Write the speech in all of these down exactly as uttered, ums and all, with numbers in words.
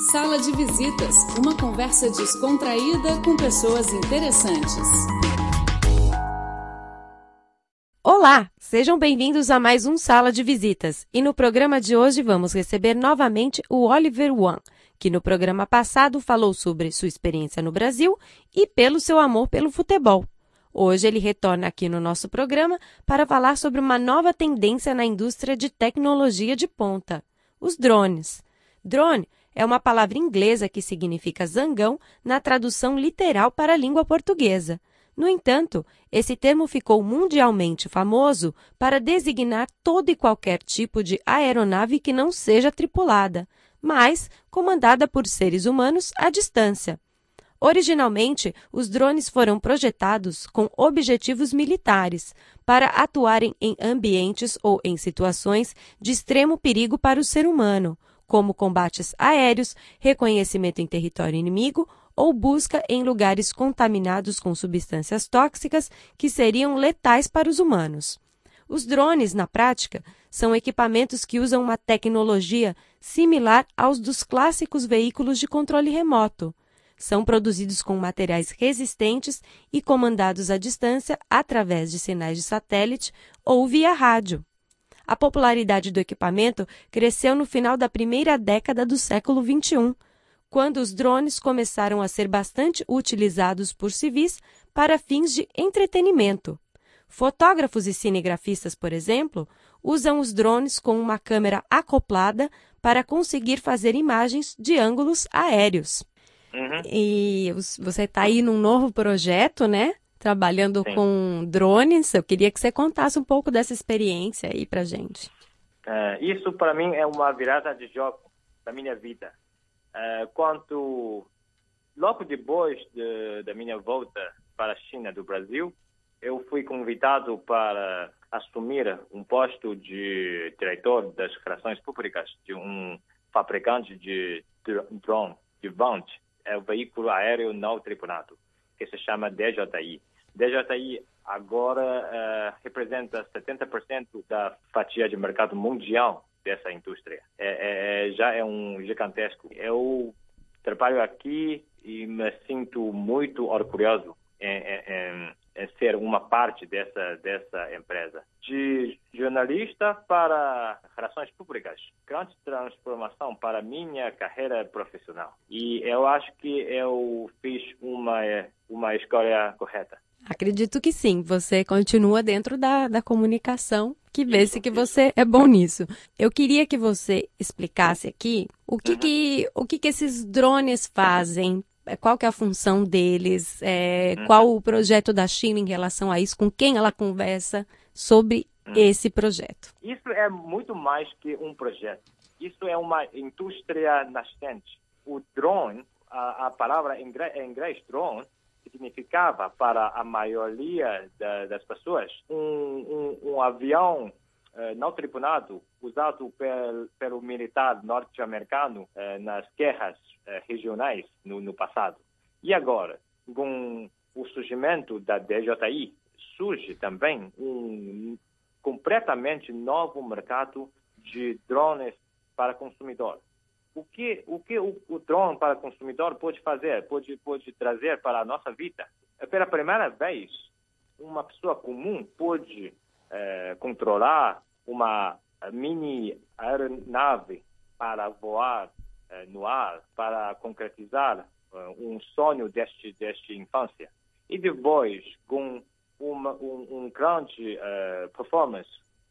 Sala de Visitas, uma conversa descontraída com pessoas interessantes. Olá, sejam bem-vindos a mais um Sala de Visitas. E no programa de hoje vamos receber novamente o Oliver Wan, que no programa passado falou sobre sua experiência no Brasil e pelo seu amor pelo futebol. Hoje ele retorna aqui no nosso programa para falar sobre uma nova tendência na indústria de tecnologia de ponta, os drones. Drone é uma palavra inglesa que significa zangão na tradução literal para a língua portuguesa. No entanto, esse termo ficou mundialmente famoso para designar todo e qualquer tipo de aeronave que não seja tripulada, mas comandada por seres humanos à distância. Originalmente, os drones foram projetados com objetivos militares, para atuarem em ambientes ou em situações de extremo perigo para o ser humano, como combates aéreos, reconhecimento em território inimigo ou busca em lugares contaminados com substâncias tóxicas que seriam letais para os humanos. Os drones, na prática, são equipamentos que usam uma tecnologia similar aos dos clássicos veículos de controle remoto. São produzidos com materiais resistentes e comandados à distância através de sinais de satélite ou via rádio. A popularidade do equipamento cresceu no final da primeira década do século vinte e um, quando os drones começaram a ser bastante utilizados por civis para fins de entretenimento. Fotógrafos e cinegrafistas, por exemplo, usam os drones com uma câmera acoplada para conseguir fazer imagens de ângulos aéreos. Uhum. E você está aí num novo projeto, né? Trabalhando Sim. com drones. Eu queria que você contasse um pouco dessa experiência aí pra gente. Uh, isso para mim é uma virada de jogo da minha vida. Uh, quando, logo depois de, da minha volta para a China do Brasil, eu fui convidado para assumir um posto de diretor das relações públicas de um fabricante de drone, de Vant, é o veículo aéreo não tripulado, que se chama D J I. D J I agora uh, representa setenta por cento da fatia de mercado mundial dessa indústria. É, é, já é um gigantesco. Eu trabalho aqui e me sinto muito orgulhoso em, em, em ser uma parte dessa, dessa empresa. De jornalista para relações públicas, grande transformação para minha carreira profissional. E eu acho que eu fiz uma, uma escolha correta. Acredito que sim. Você continua dentro da, da comunicação, que vê-se que você é bom nisso. Eu queria que você explicasse aqui o que, uhum. que, o que, que esses drones fazem, qual que é a função deles, é, uhum. qual o projeto da China em relação a isso, com quem ela conversa sobre uhum. esse projeto. Isso é muito mais que um projeto. Isso é uma indústria nascente. O drone, a, a palavra em inglês, em inglês drone, significava para a maioria da, das pessoas um, um, um avião uh, não tripulado usado pel, pelo militar norte-americano uh, nas guerras uh, regionais no, no passado. E agora, com o surgimento da D J I, surge também um completamente novo mercado de drones para consumidor. O que, o, que o, o drone para consumidor pode fazer, pode, pode trazer para a nossa vida? Pela primeira vez, uma pessoa comum pode eh, controlar uma mini aeronave para voar eh, no ar, para concretizar uh, um sonho deste, deste infância. E depois, com uma um, um grande uh, performance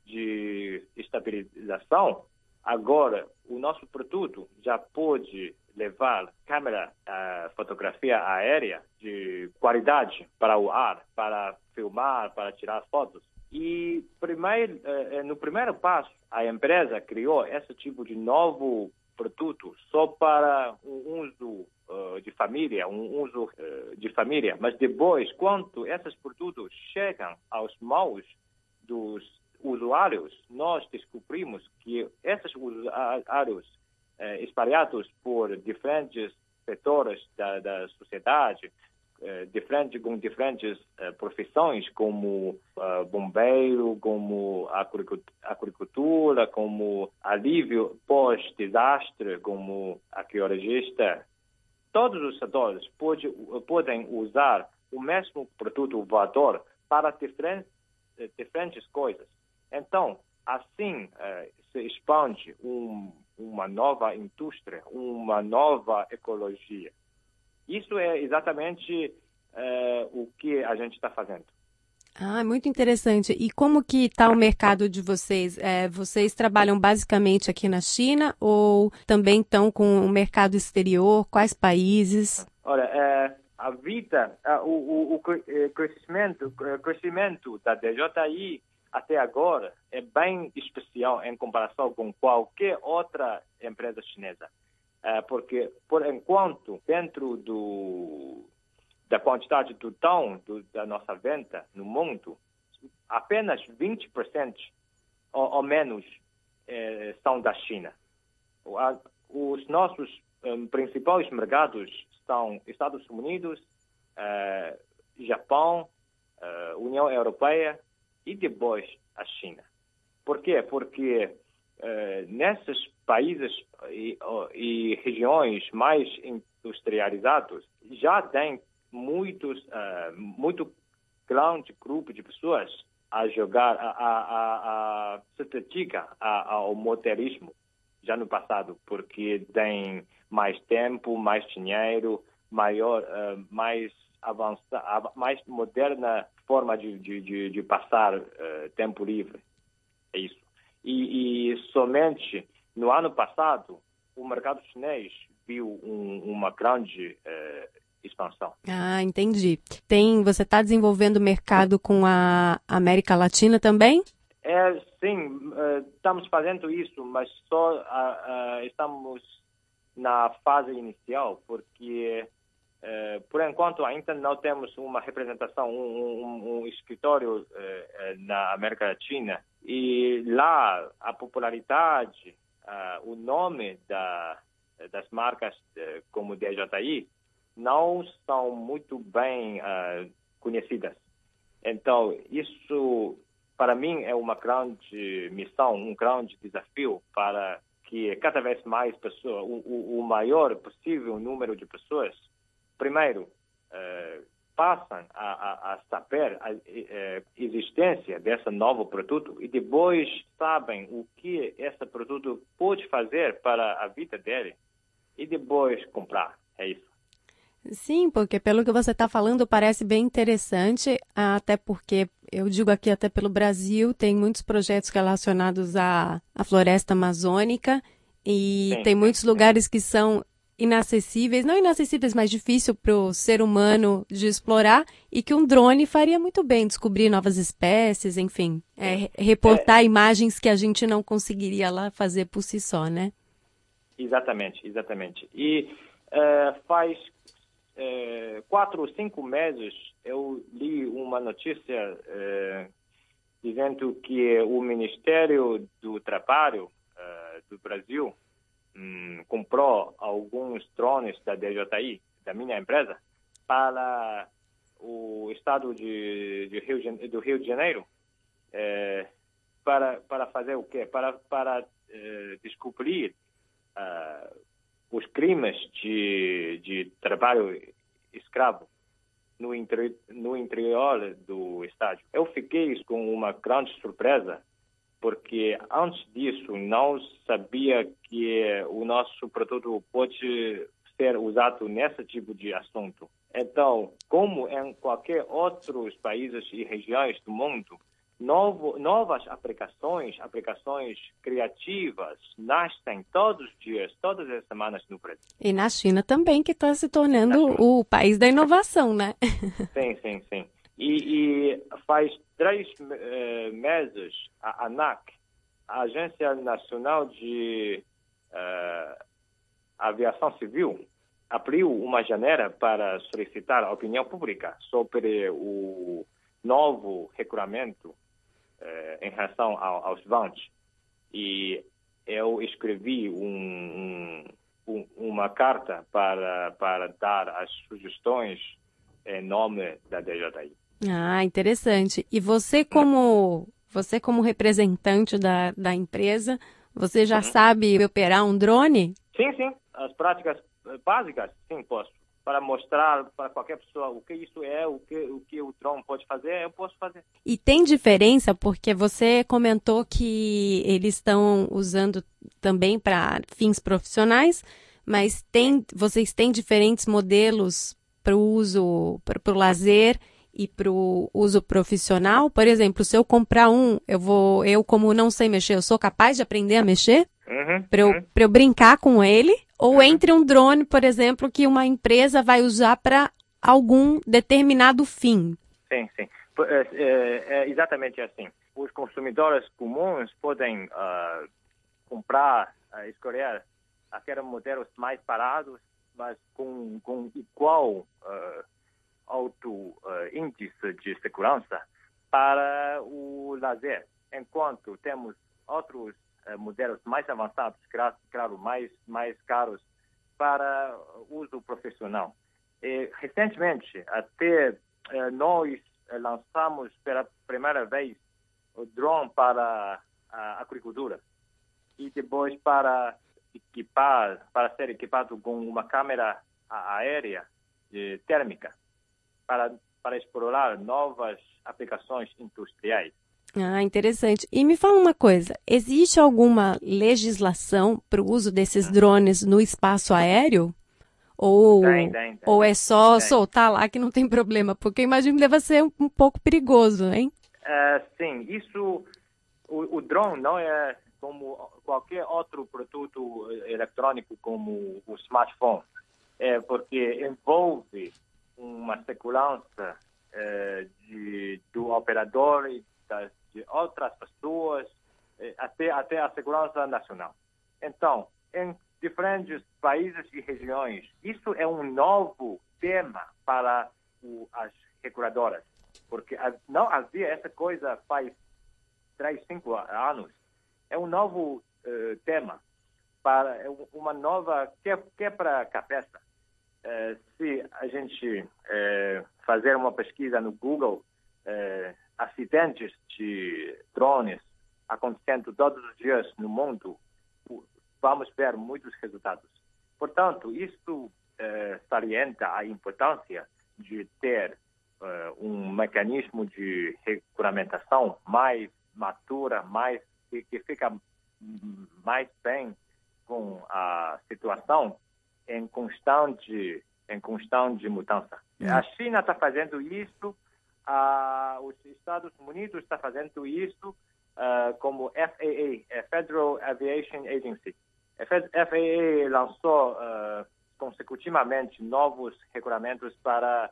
de estabilização, agora, o nosso produto já pode levar câmera, uh, fotografia aérea de qualidade para o ar, para filmar, para tirar fotos. E primeiro, uh, no primeiro passo, a empresa criou esse tipo de novo produto só para um uso uh, de família, um uso uh, de família. Mas depois, quando esses produtos chegam aos mãos dos usuários, nós descobrimos que esses usuários eh, espalhados por diferentes setores da, da sociedade, diferente, com diferentes uh, profissões, como uh, bombeiro, como agricultura, como alívio pós-desastre, como arqueologista. Todos os setores pode, podem usar o mesmo produto voador para diferentes, diferentes coisas. Então, assim uh, se expande um, uma nova indústria, uma nova ecologia. Isso é exatamente uh, o que a gente está fazendo. Ah, muito interessante. E como que está o mercado de vocês? É, vocês trabalham basicamente aqui na China ou também estão com o mercado exterior? Quais países? Olha, é, a vida, é, o, o, o crescimento, o crescimento da D J I até agora é bem especial em comparação com qualquer outra empresa chinesa. É, porque, por enquanto, dentro do, da quantidade total do, da nossa venda no mundo, apenas vinte por cento ou, ou menos é, são da China. Os nossos um, principais mercados são Estados Unidos, uh, Japão, uh, União Europeia e depois a China. Por quê? Porque uh, nesses países e, e regiões mais industrializados já tem muitos, uh, muito grande grupo de pessoas a jogar, a, a, a, a se dedicar ao modelismo já no passado, porque tem mais tempo, mais dinheiro, maior, uh, mais avançada, mais moderna forma de, de, de, de passar uh, tempo livre. É isso. E, e somente no ano passado, o mercado chinês viu um, uma grande uh, expansão. Ah, entendi. Tem, você está desenvolvendo mercado com a América Latina também? É, sim, uh, estamos fazendo isso, mas só uh, uh, estamos na fase inicial, porque, uh, por enquanto, ainda não temos uma representação, um, um, um escritório uh, na América Latina. E lá, a popularidade, uh, o nome da, das marcas uh, como D J I não são muito bem uh, conhecidas. Então, isso, para mim, é uma grande missão, um grande desafio para que cada vez mais pessoas, o, o, o maior possível número de pessoas, primeiro, uh, passam a, a, a saber a, a existência desse novo produto e depois sabem o que esse produto pode fazer para a vida dele e depois comprar. É isso. Sim, porque pelo que você está falando parece bem interessante, até porque eu digo aqui até pelo Brasil, tem muitos projetos relacionados à, à floresta amazônica e sim, tem sim, muitos sim. lugares que são inacessíveis, não inacessíveis, mas difícil para o ser humano de explorar e que um drone faria muito bem, descobrir novas espécies, enfim, é, reportar é... imagens que a gente não conseguiria lá fazer por si só, né? Exatamente, exatamente. E uh, faz uh, quatro ou cinco meses eu li uma notícia uh, dizendo que o Ministério do Trabalho uh, do Brasil um, comprou alguns drones da D J I, da minha empresa, para o estado de, de Rio, do Rio de Janeiro, uh, para, para fazer o quê? Para, para uh, descobrir Uh, os crimes de, de trabalho escravo no, interi no interior do estado. Eu fiquei com uma grande surpresa, porque antes disso não sabia que o nosso produto pode ser usado nesse tipo de assunto. Então, como em qualquer outros países e regiões do mundo, Novo, novas aplicações, aplicações criativas nascem todos os dias, todas as semanas no Brasil. E na China também, que está se tornando o país da inovação, né? Sim, sim, sim. E, e faz três uh, meses a ANAC, a Agência Nacional de uh, Aviação Civil, abriu uma janela para solicitar a opinião pública sobre o novo regulamento Uh, em relação ao, aos voos. E eu escrevi um, um, um, uma carta para, para dar as sugestões em nome da D J I. Ah, interessante. E você como, você como representante da, da empresa, você já uhum. sabe operar um drone? Sim, sim. As práticas básicas, sim, posso. Para mostrar para qualquer pessoa o que isso é, o que o, que o drone pode fazer, eu posso fazer. E tem diferença, porque você comentou que eles estão usando também para fins profissionais, mas tem, vocês têm diferentes modelos para o uso, para o lazer e para o uso profissional? Por exemplo, se eu comprar um, eu vou, eu como não sei mexer, eu sou capaz de aprender a mexer? Uhum, para eu, uhum. para eu brincar com ele? Ou entre um drone, por exemplo, que uma empresa vai usar para algum determinado fim? Sim, sim. É, é, é exatamente assim. Os consumidores comuns podem uh, comprar, uh, escolher aqueles modelos mais parados, mas com, com igual uh, alto uh, índice de segurança para o lazer, enquanto temos outros uh, modelos mais avançados, claro, claro mais, mais caros, para uso profissional. E, recentemente, até uh, nós lançamos pela primeira vez o drone para a agricultura e depois para equipar, para ser equipado com uma câmera aérea de térmica para, para explorar novas aplicações industriais. Ah, interessante. E me fala uma coisa, existe alguma legislação para o uso desses drones no espaço aéreo? Ou, tem, tem, tem. ou é só tem. soltar lá que não tem problema? Porque imagino que deve ser um, um pouco perigoso, hein? Uh, sim, isso, o, o drone não é como qualquer outro produto eletrônico como o smartphone, é porque envolve uma segurança uh, de, do operador e das, de outras pessoas, uh, até, até a segurança nacional. Então, em diferentes países e regiões, isso é um novo tema para o, as reguladoras, porque não havia essa coisa faz três, cinco anos. É um novo uh, tema para uma nova quebra-cabeça. Uh, se a gente uh, fazer uma pesquisa no Google, uh, acidentes de drones acontecendo todos os dias no mundo, vamos ver muitos resultados. Portanto, isso eh, salienta a importância de ter eh, um mecanismo de regulamentação mais madura, mais, que, que fica mais bem com a situação em constante, em constante mudança. Hum. A China está fazendo isso, a, os Estados Unidos estão fazendo isso, uh, como F A A, Federal Aviation Agency. A F A A lançou uh, consecutivamente novos regulamentos para,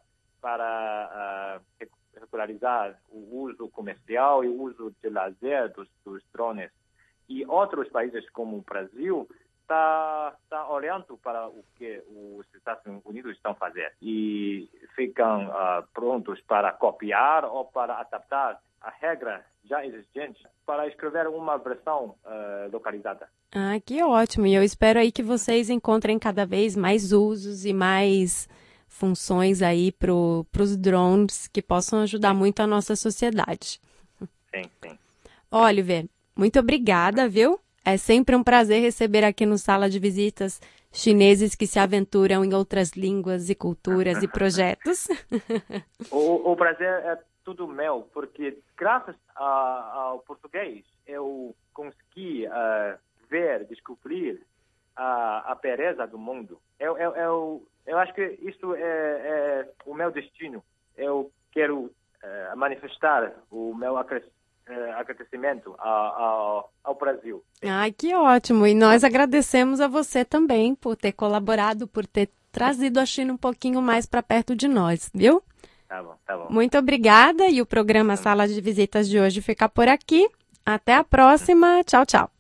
para uh, regularizar o uso comercial e o uso de lazer dos, dos drones. E outros países, como o Brasil, está tá olhando para o que os Estados Unidos estão fazendo e ficam uh, prontos para copiar ou para adaptar a regra já existente para escrever uma versão uh, localizada. Ah, que ótimo! E eu espero aí que vocês encontrem cada vez mais usos e mais funções aí para os drones que possam ajudar sim. muito a nossa sociedade. Sim, sim. Oliver, muito obrigada, viu? É sempre um prazer receber aqui no Sala de Visitas chineses que se aventuram em outras línguas e culturas e projetos. o, o prazer é tudo meu, porque graças a, ao português eu consegui uh, ver, descobrir a, a beleza do mundo. Eu, eu, eu, eu acho que isso é, é o meu destino. Eu quero uh, manifestar o meu acrescimento agradecimento ao, ao, ao Brasil. Ai, que ótimo! E nós agradecemos a você também por ter colaborado, por ter trazido a China um pouquinho mais para perto de nós, viu? Tá bom, tá bom. Muito obrigada e o programa Sala de Visitas de hoje fica por aqui. Até a próxima. Tchau, tchau.